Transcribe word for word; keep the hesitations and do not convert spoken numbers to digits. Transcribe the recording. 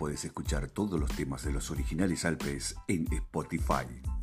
puedes escuchar todos los temas de los originales Alpes en Spotify.